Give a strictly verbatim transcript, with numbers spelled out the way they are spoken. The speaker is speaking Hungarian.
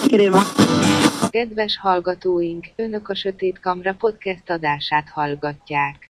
Kedves hallgatóink, Önök a Sötét Kamra podcast adását hallgatják.